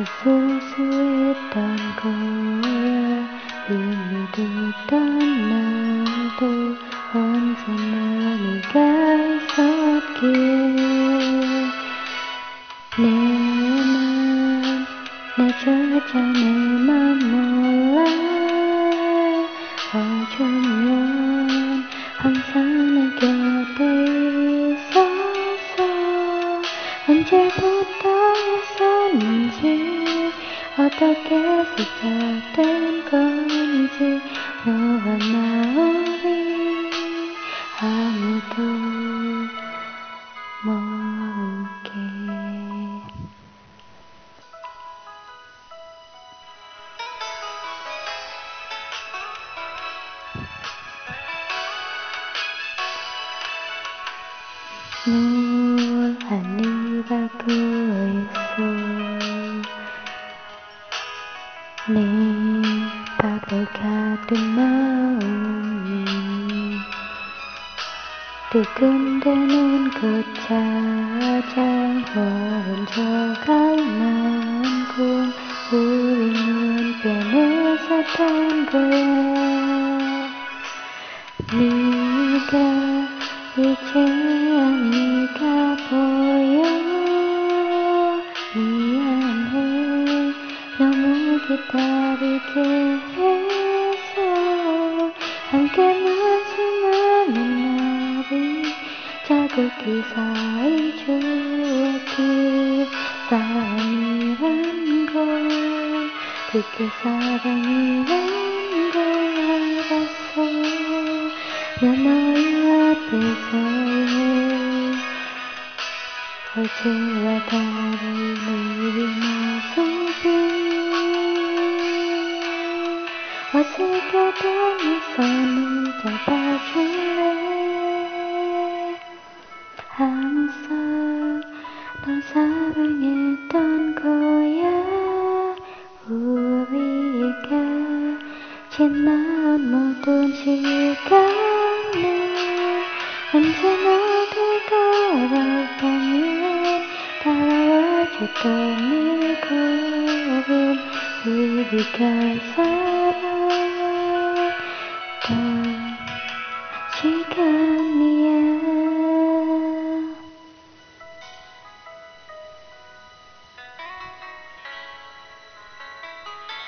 수수했던 거야. 힘이 됐던 나도 언제나 네가 있었기에 내조차 내 맘 몰라. 어쩌면 항상 내 곁에 있어서 언제부터였었는지 어떻게 시작된 건지 너와 나 우리 아무도 모르게. 노란이 밟고 있어. 네 바보 같은 마음이 두근대는 곳 찾아 혼자갈 만큼 우리는 변했었던 거야. 네가 이제 아니가 보여. 미안해 너무 기다리게 해서. 함께 마주하는 날이 자극이 쌓인 추억이. 사랑이란 걸 그게 사랑이란 걸 알았어. 나 너의 앞에서의 어제와 다른 우리 모습이 어색해도 네 손을 잡아줄래. 항상 널 사랑했던 거야. 우리가 지난 모든 시간을 언제나 되돌아보면 따라와줬던 네 걸음. 우리가 살았던 시간.